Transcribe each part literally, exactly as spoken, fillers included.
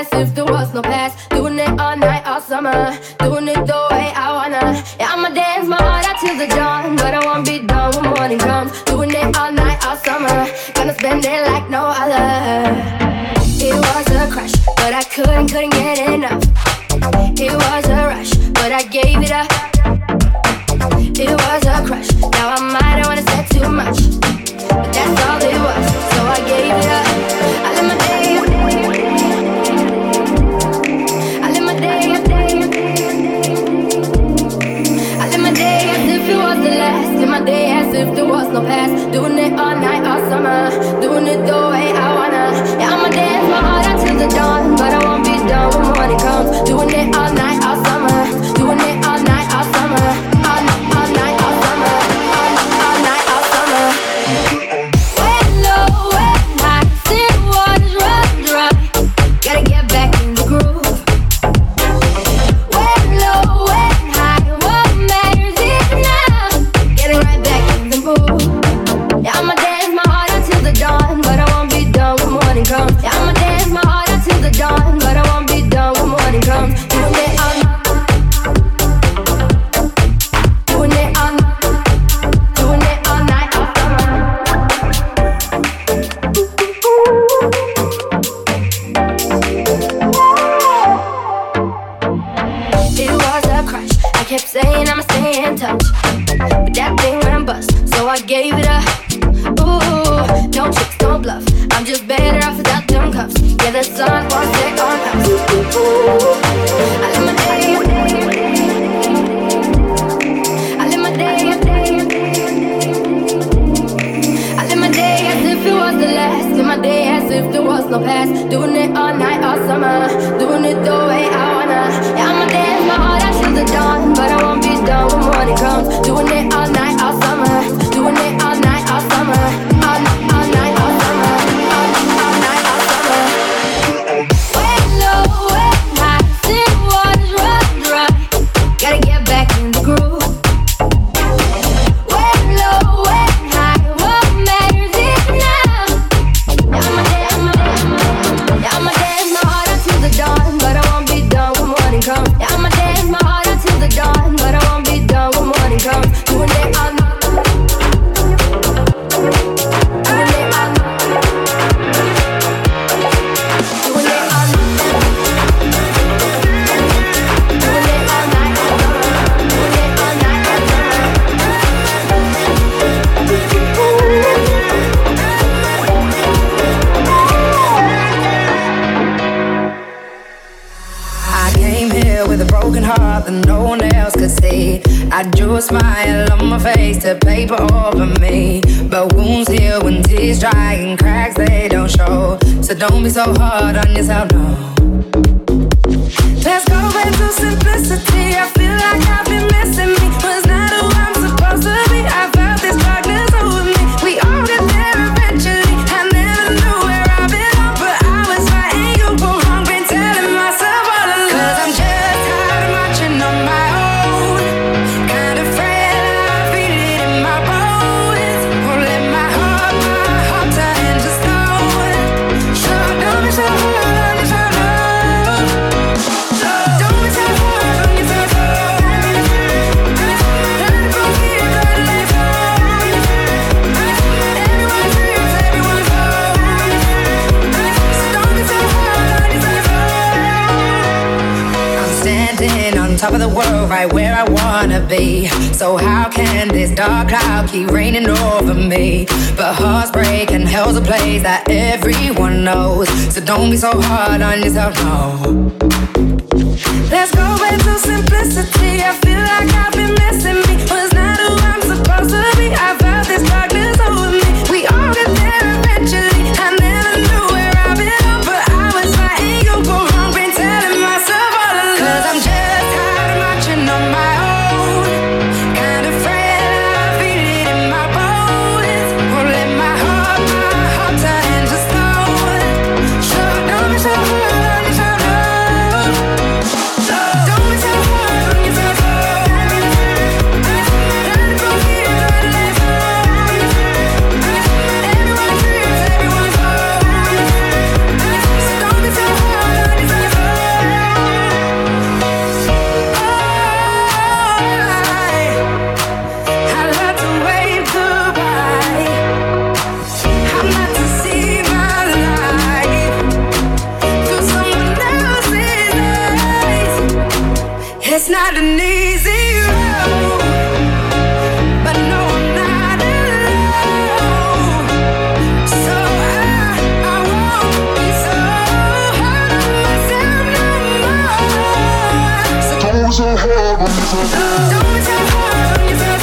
as if there was no past. Doing it all night, all summer. Doing it the way I wanna. Yeah, I'ma dance my heart out till the dawn, but I won't be done when morning comes. Doing it all night, all summer. Gonna spend it like no other. It was a crush, but I couldn't, couldn't get enough. It was a rush, but I gave it up. It was a crush, now I might have wanna say too much, but that's all it was, so I gave it up. I live my day, I live my day, I live my day as if it was the last. Live my day as if there was no past. Doing it all night, all summer. Doing it the way I wanna. Yeah, I'ma dance my heart out till the dawn, but I won't be done when morning comes. Doing it all night, all summer. Doing it all night, all summer. All night, all night, all summer. All, all night, all summer. Way low, way high, still waters run dry. Gotta get back in the groove. Way low, way high, what matters is now. Getting right back in the mood. Yeah, I'ma dance my heart out till the dawn, but I won't be done when morning comes. Yeah, I'ma dance my heart out till the dawn, but I won't be done when morning comes. Doing it all night. Doing it all night. Doing it all night, all summer. It was a crush. I kept saying I'ma stay in touch, but that thing went bust, so I gave it up. Ooh, no tricks, no bluff. I'm just better off without them cuffs. Yeah, the sun won't set on us. Ooh, I live my day, I live my day, I live my day as if it was the last. Live my day as if there was no past. Doing it all night, all summer. Doing it the way I wanna. Yeah, I'ma dance my heart out till the dawn, but I won't be done when morning comes. Doing it all night, all summer. Doing it all night, all summer. All night, all night, all summer. All, all night, all summer. Way low, way high, still waters run dry. Gotta get back in the groove. Way low, way high, what matters is now. Yeah, I'ma dance, I'ma dance, yeah, I'ma dance my heart out till the dawn, but I won't be done when morning comes. Yeah, I'ma dance my heart out till the dawn, but I won't be done when morning comes. Doing it all night. That no one else could see. I drew a smile on my face to paper over me, but wounds heal when tears dry and cracks they don't show. So don't be so hard on yourself, no. Let's go back to simplicity. I feel like I've been missing me. Was not who I'm supposed to be. I felt this darkness over me. We all get there eventually. I never knew where I belonged, but I was fighting you for wrong. Been telling myself all along, 'cause I'm just tired of marching on my own. Kind of frail, I feel it in my bones. Won't let my heart, my heart turn to stone. So don't be so hard on yourself, no. Don't be so hard on yourself, no. Let it go here, let it let go. Everyone feels, everyone's home. So don't be so hard on yourself, no. I'm standing on top of the world, right where I wanna be. So how can this dark cloud keep raining over me? But hearts break and hell's a place that everyone knows. So don't be so hard on yourself, no. Let's go back to simplicity. I feel like I've been missing me. Was not who I'm supposed to be. I felt this darkness over me. We all get there eventually. I never knew where I belonged, but I was fighting you for wrong. Been telling myself all along, 'cause I'm just tired of marching on my own. Kind of frail, I feel it in my bones. Won't let my heart, my heart turn to stone. So don't be so hard on yourself, no. Don't be so hard on yourself, no. It's not an easy road, but no, I'm not alone. So I, I won't be so hard on myself no more. So don't be so hard on yourself. Don't be so hard on yourself.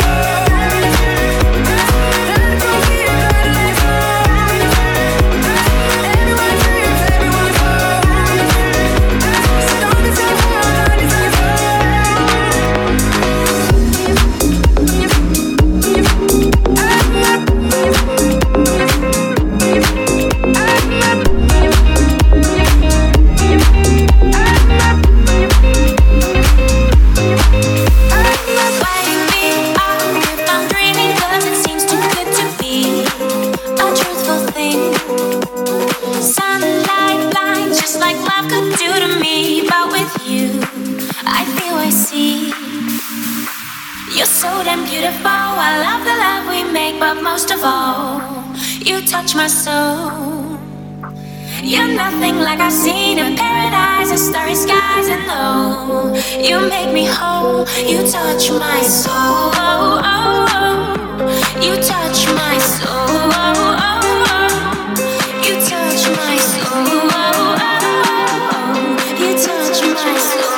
Most of all, you touch my soul. You're nothing like I've seen in paradise and starry skies, and no, you make me whole. You touch my soul. You touch my soul. You touch my soul. You touch my soul.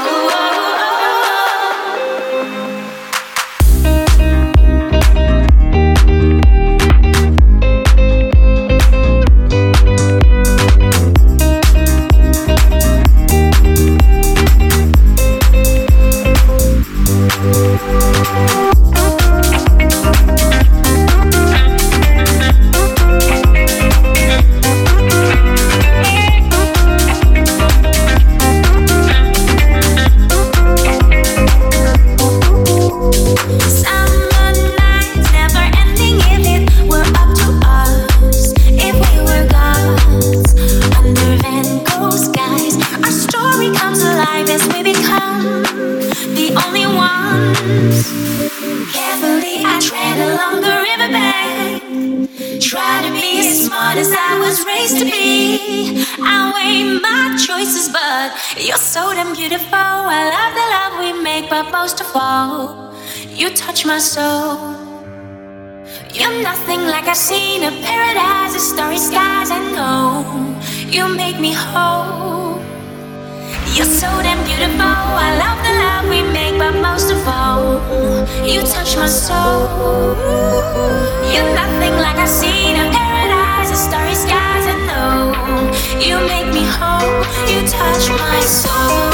You're so damn beautiful. I love the love we make, but most of all, you touch my soul. You're nothing like I've seen in paradise, the starry skies. I know you make me whole. You're so damn beautiful. I love the love we make, but most of all, you touch my soul. You're nothing like I've seen in paradise, the starry skies. I know you make me whole. You touch my soul.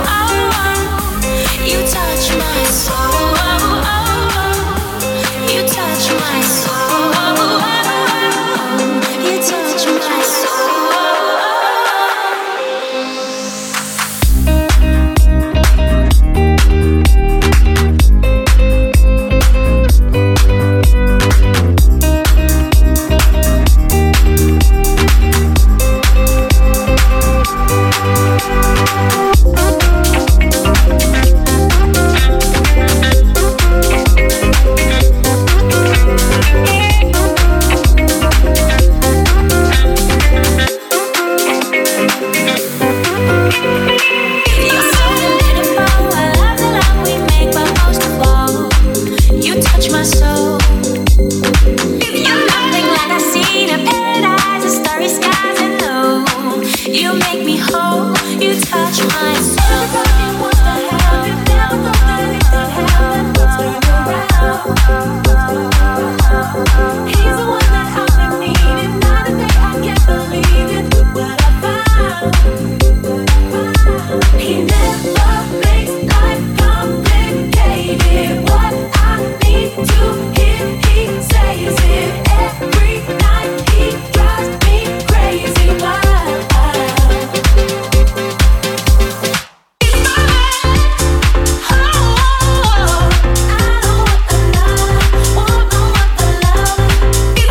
You touch my soul. You touch my soul. You touch my soul. It's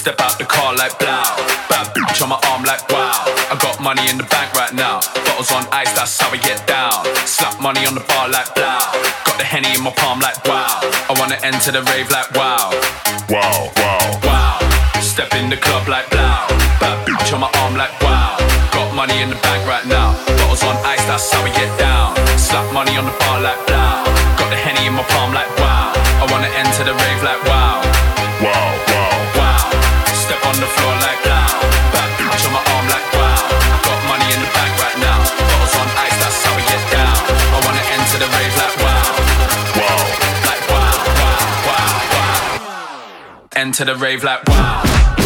Step out the car like blow. Bad bitch on my arm like wow. I got money in the bank right now. Bottles on ice, that's how we get down. Slap money on the bar like blow. Got the Henny in my palm like wow. I wanna enter the rave like wow. Wow, wow, wow. Step in the club like blow. Bad bitch on my arm like wow. Got money in the bank right now. Bottles on ice, that's how we get down. Slap money on the bar like blow. Got the Henny in my palm like wow. I wanna enter the rave like wow. Wow, wow, wow. Step on the floor like blow. Bad bitch on my arm like wow. Got money in the bank right now. Bottles on ice, that's how we get down. I wanna enter the rave like wow. Wow, like wow, wow, wow, wow. Enter the rave like wow.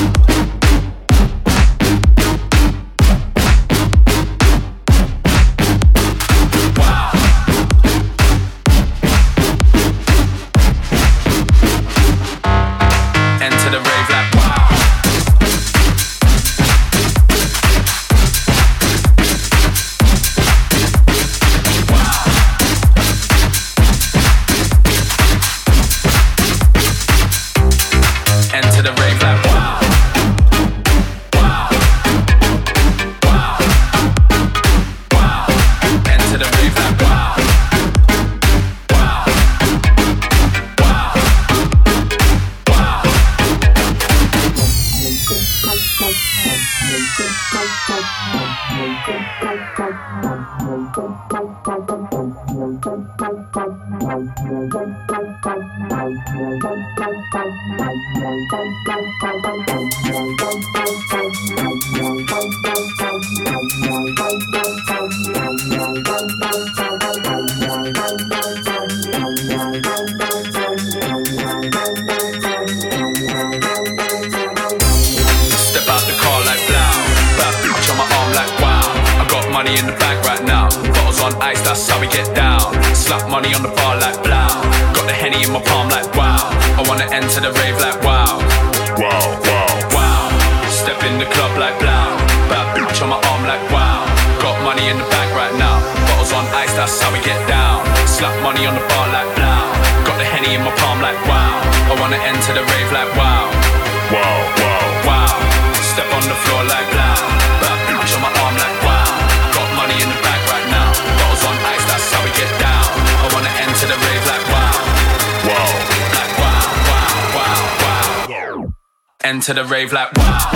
Enter the rave like wow.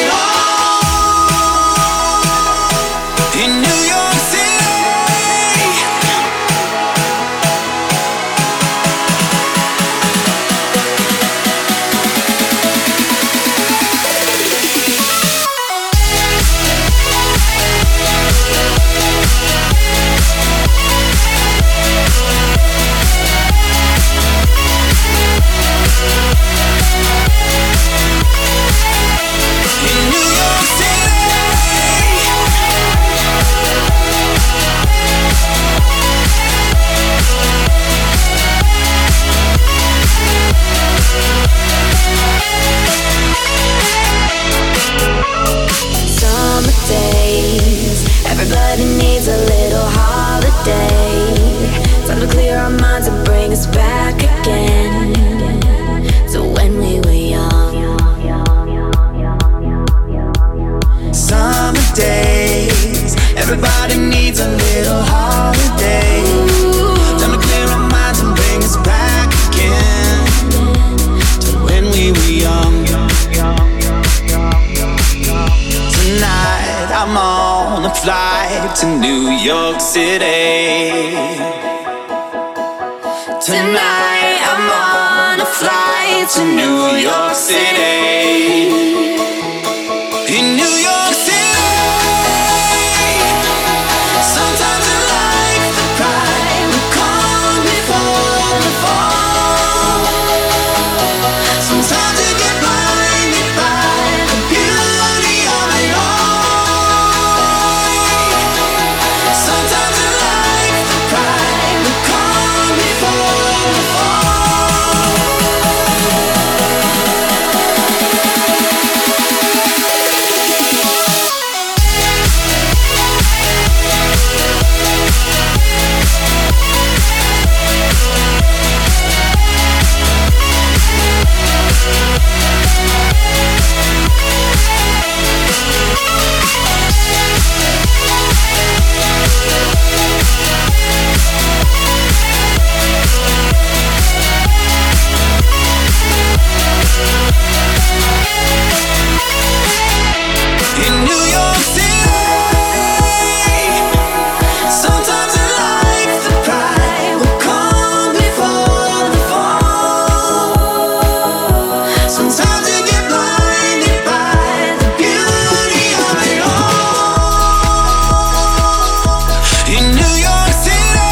In New York City to New York City. Tonight I'm on a flight to New York City. In New York City, sometimes in life the pride will come before the fall. Sometimes you get blinded by the beauty of it all. Sometimes in life the pride will come before the fall. In New York City, sometimes in life the pride will come before the fall. Sometimes you get blinded by the beauty of it all. In New York City,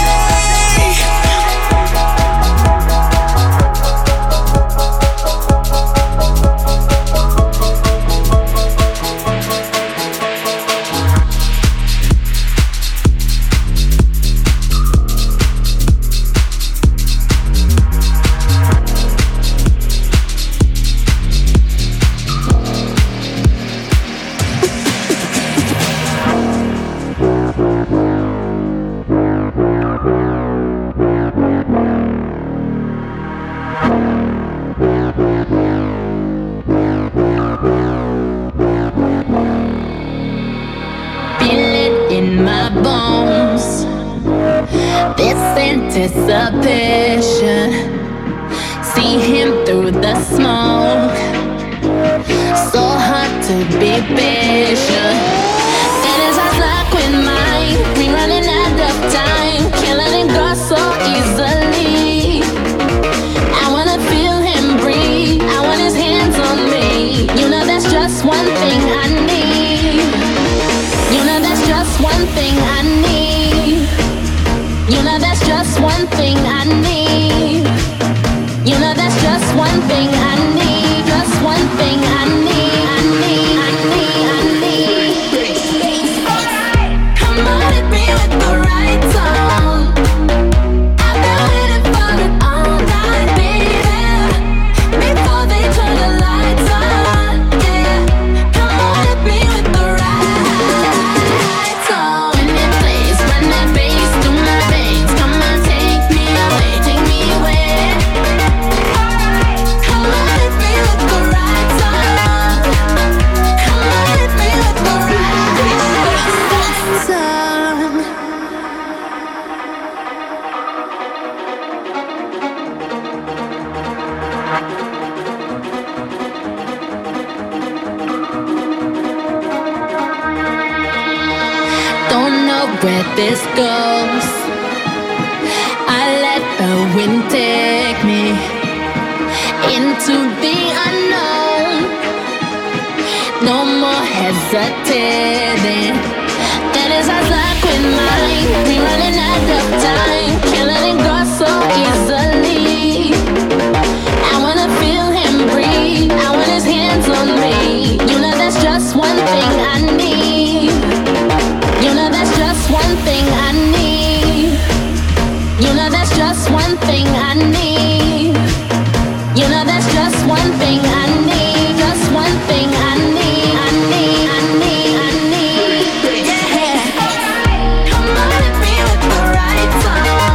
Feel it in my bones, this anticipation. See him through the smoke, so hard to be patient. That is our luck with mine, we running out of time, can't let him go so easily. I wanna feel him breathe, I want his hands on me. You know that's just one thing I need. You know that's just one thing I need. You know that's just one thing I need. You know that's just one thing I need. Just one thing I need. I need. I need. I need. Come on, hit me with the right tone. I've been waiting for it all night, baby. Before they turn the lights on, yeah. Come on, hit me with the right tone. When it plays, run that bass through my veins. Come on, take me away, take me away. Come on, hit me with the right tone. Come on, hit me with the right tone. Don't know where this goes. I let the wind take me into the unknown. No more hesitating. That is our luck with mine. We running out of time, can't let it go so easily. I wanna feel him breathe, I want his hands on me. You know that's just one thing I need. You know that's just one thing I need. You know that's just one thing I need. You know that's just one thing I need. Just one thing I need. I need. I need. I need. Yeah. Come on, hit me with the right tone.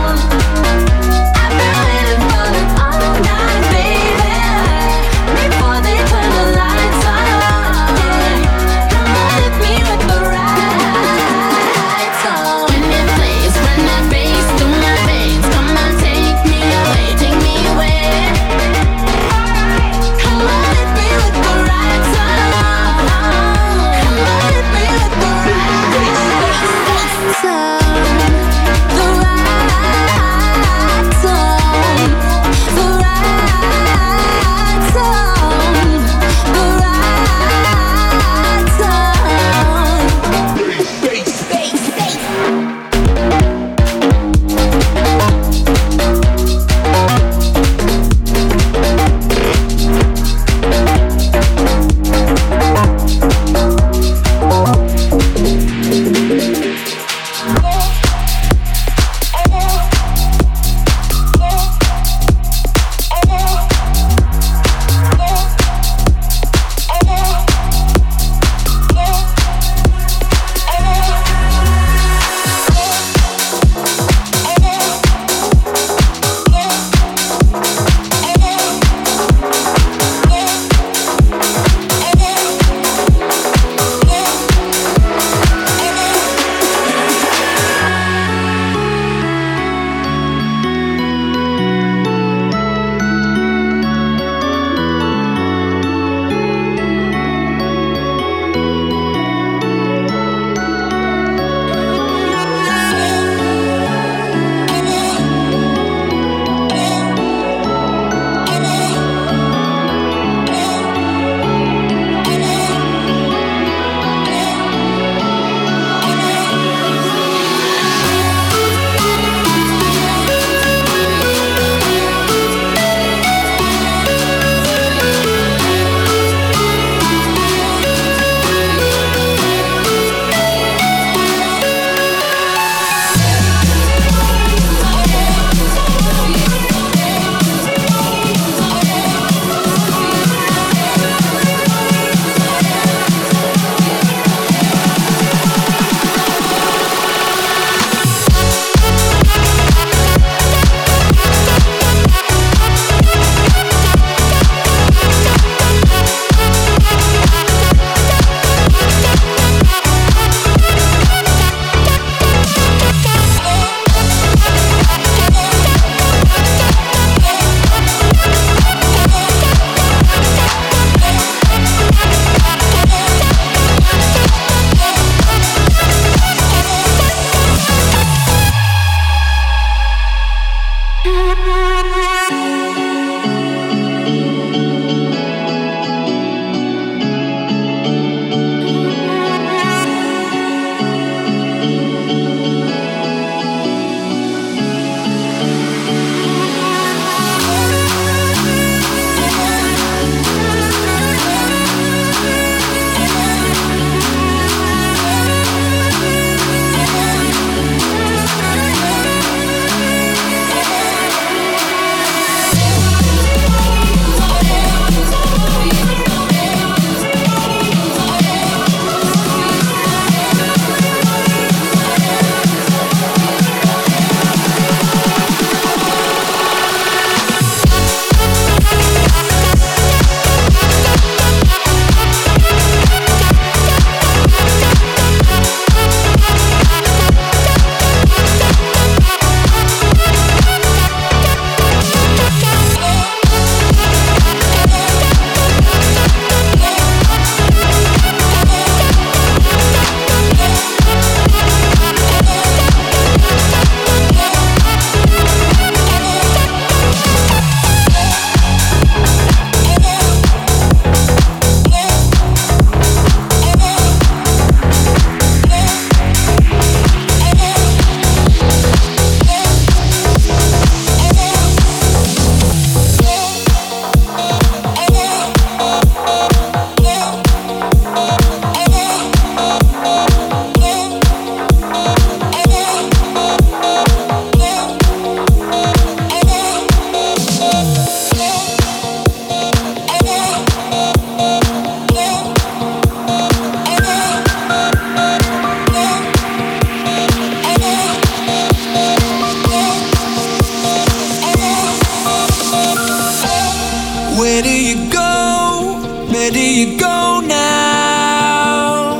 Where do you go now?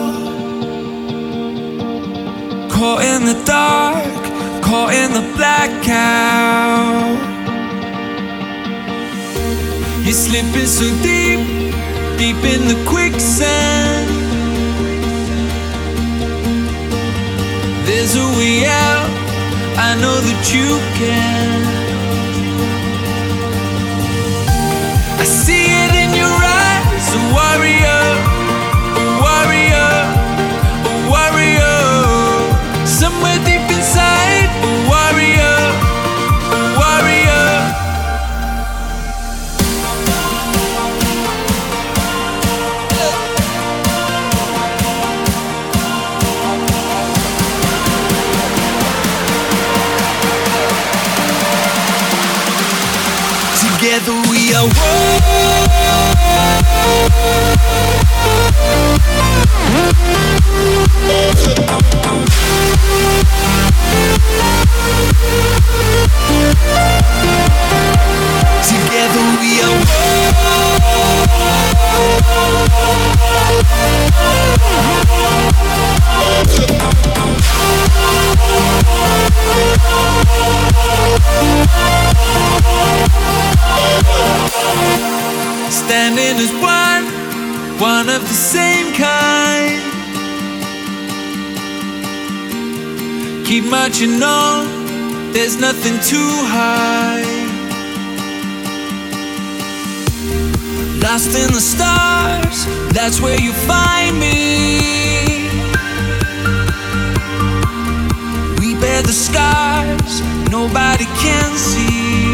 Caught in the dark, caught in the blackout. You're slipping so deep, deep in the quicksand. There's a way out, I know that you can. I see it in your eyes, a warrior, a warrior, a warrior. Somewhere deep inside, a warrior, a warrior. Together we are one. Together we are standing as one, one of the same kind. Keep marching on, there's nothing too high. Lost in the stars, that's where you find me. We bear the scars, nobody can see.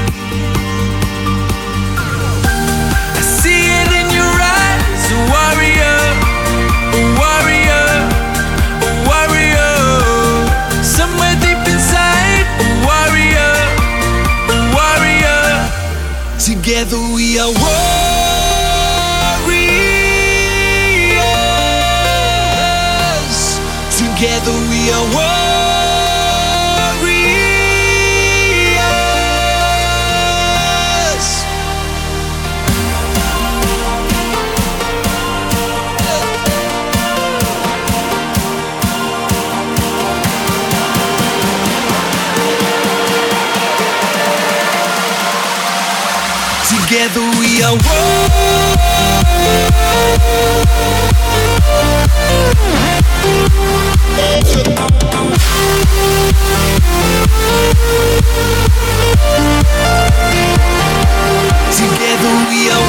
I see it in your eyes, a warrior, a warrior, a warrior. Somewhere deep inside, a warrior, a warrior. Together we are warriors. Together we are warriors. Together we are one. Together we are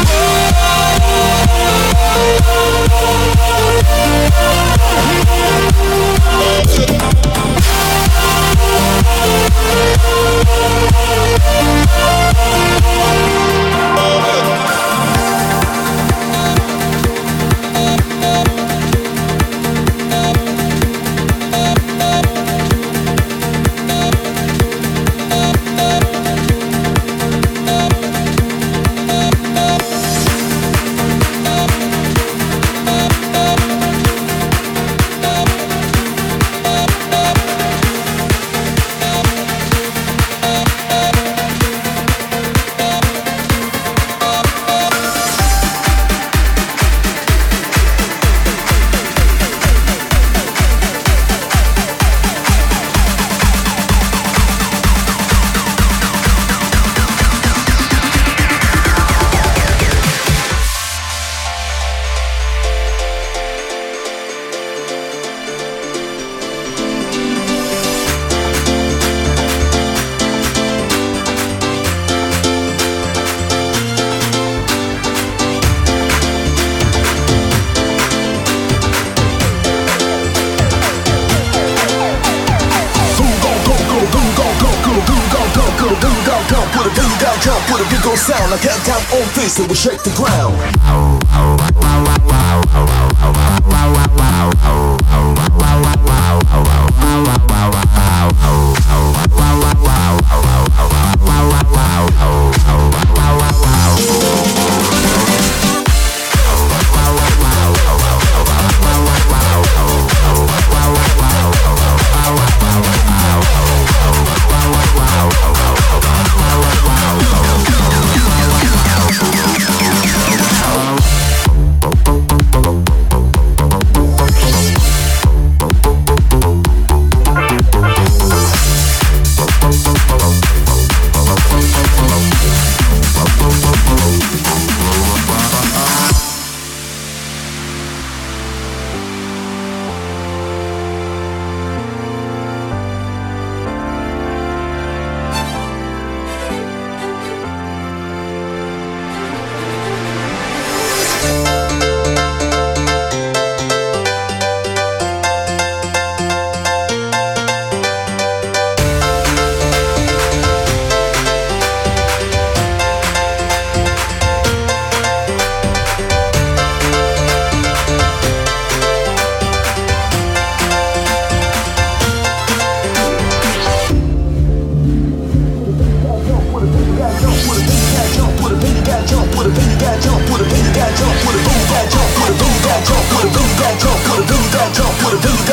sound like countdown on face, it will shake the ground.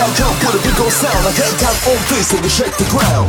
loud jump with a big old sound. Like head tap on face and we shake the ground.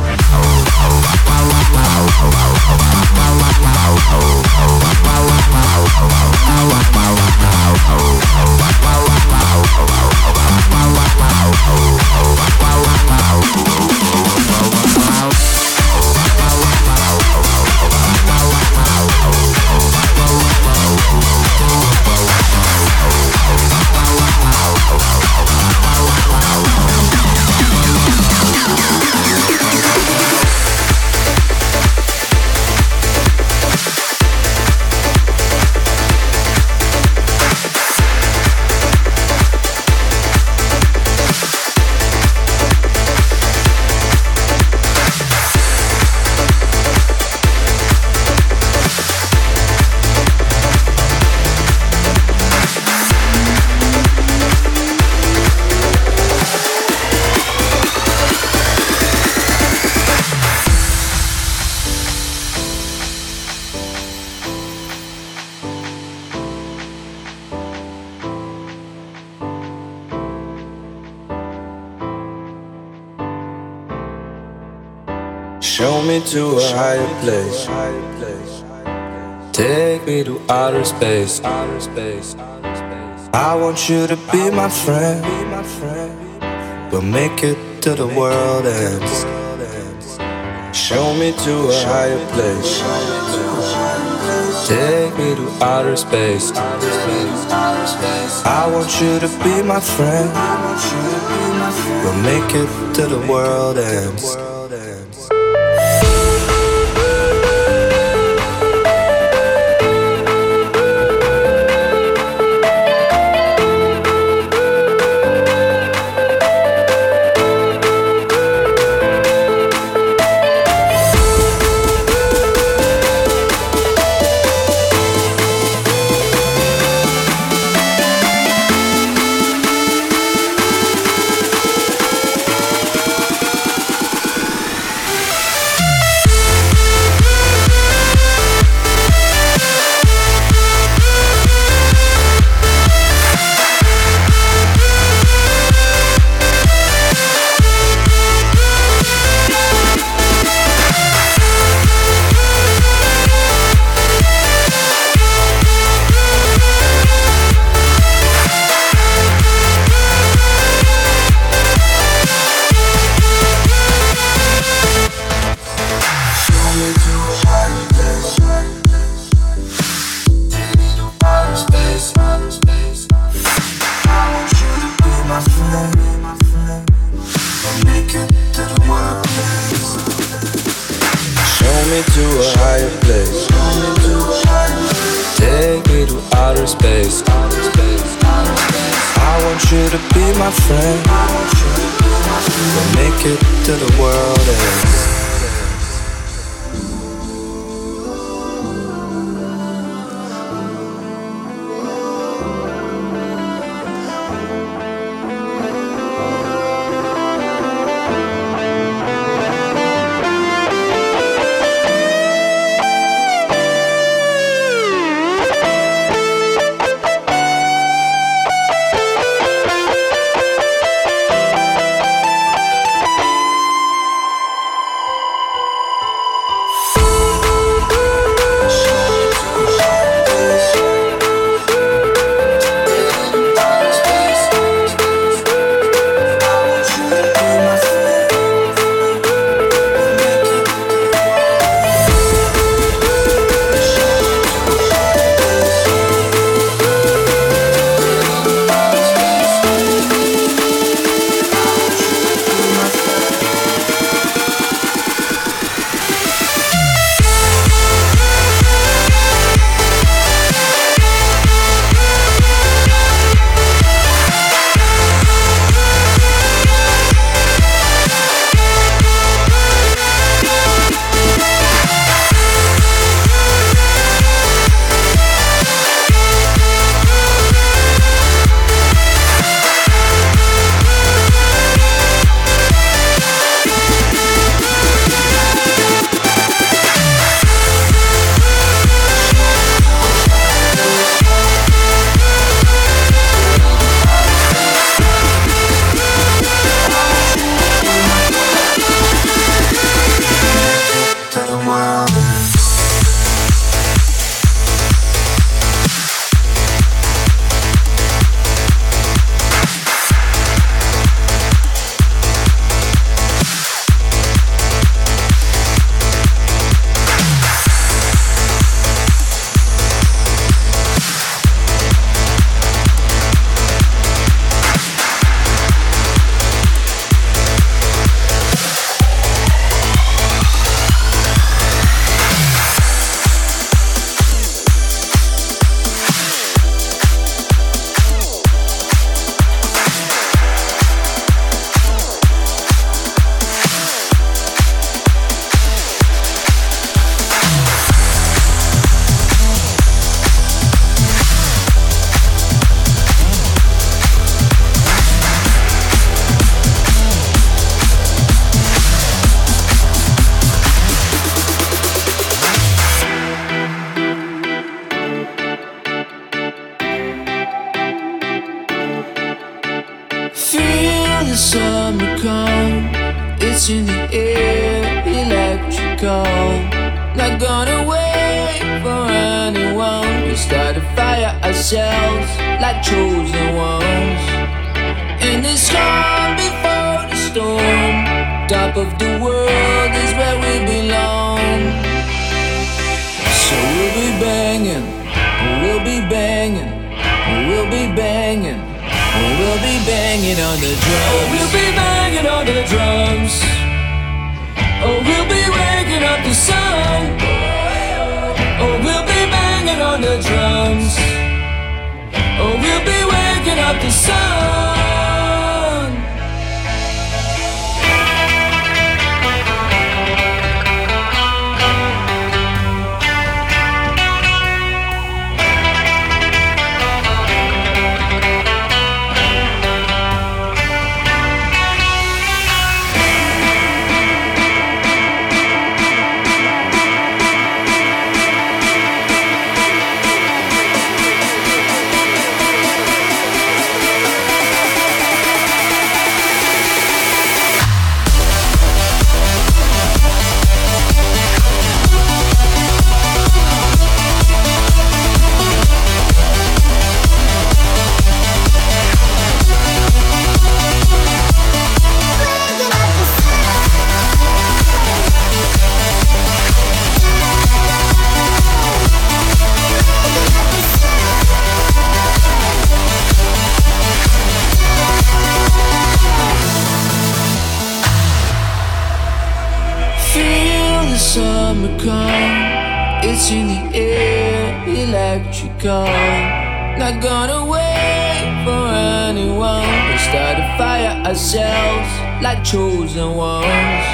Show me to a higher place. Take me to outer space. I want you to be my friend. We'll make it till the world ends. Show me to a higher place. Take me to outer space. I want you to be my friend. We'll make it till the world ends. Feel the summer come, it's in the air, electrical. Not gonna wait for anyone. We start a fire ourselves like chosen ones. In this calm before the storm, top of the world is where we belong. So we'll be banging, we'll be banging, we'll be banging, we'll be banging on the drums. We'll be banging on the drums. Oh, we'll be waking up the sun. Oh, we'll be banging on the drums. Oh, we'll be waking up the sun. It's in the air, electrical. Not gonna wait for anyone. We start a fire ourselves like chosen ones.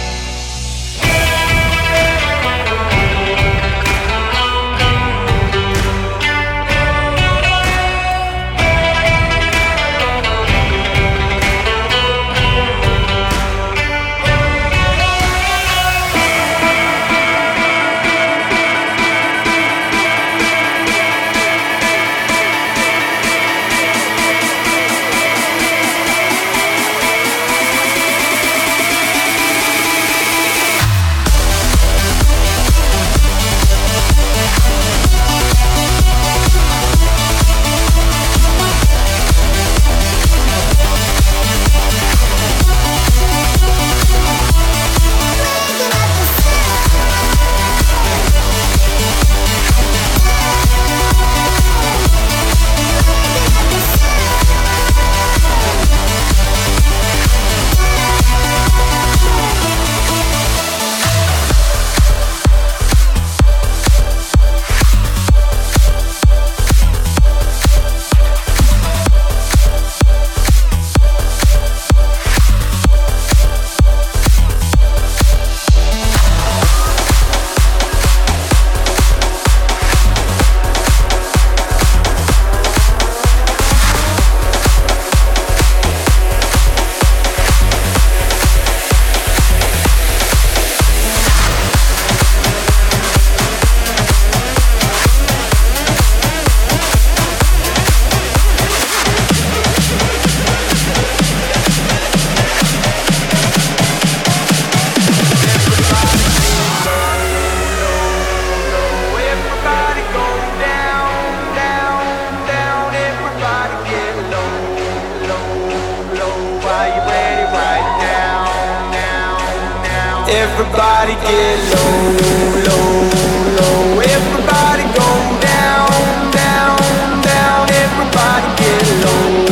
Everybody get low, low, low. Everybody go down, down, down. Everybody get low,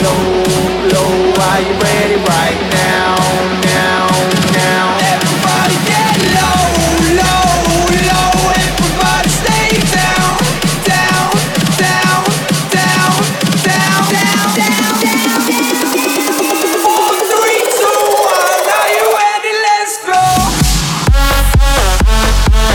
low, low. Are you ready right now, now, now? Everybody get low, low, low. Everybody stay down, down, down, down, down, down, down, down. Four, three, two, one. Are you ready? Let's go.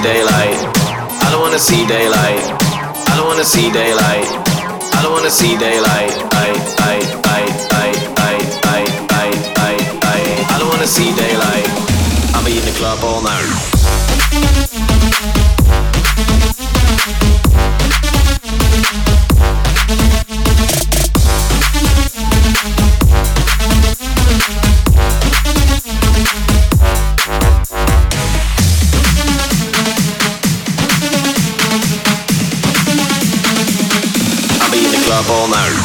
daylight. I don't wanna see daylight. I don't wanna see daylight. I don't wanna see daylight. I, I, I, I, I, I, I, I, I. I don't wanna see daylight. I'll be in the club all night. All night.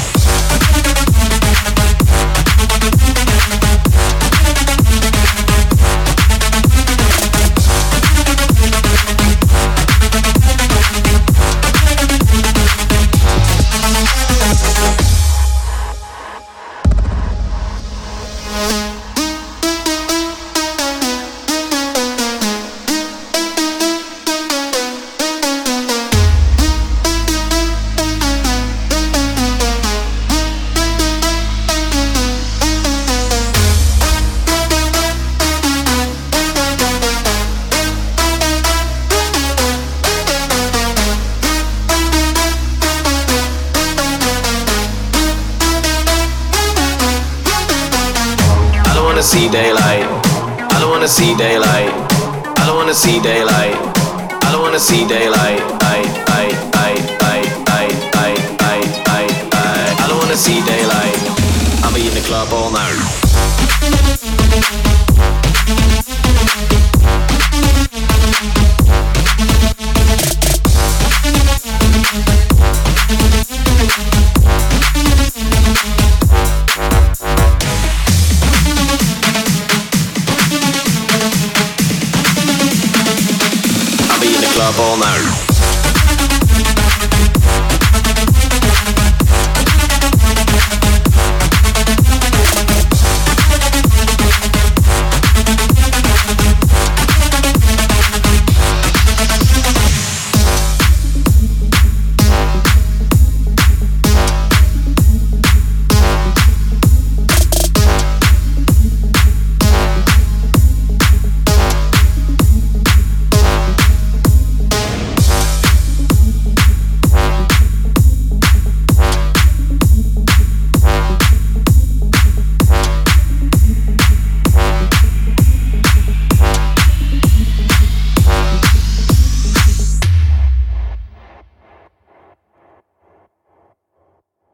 See daylight. I don't wanna see daylight. I don't wanna see daylight. I don't wanna see daylight. I, I, I, I, I, I, I, I, I. I don't wanna see daylight. I'll be in the club all night. All night.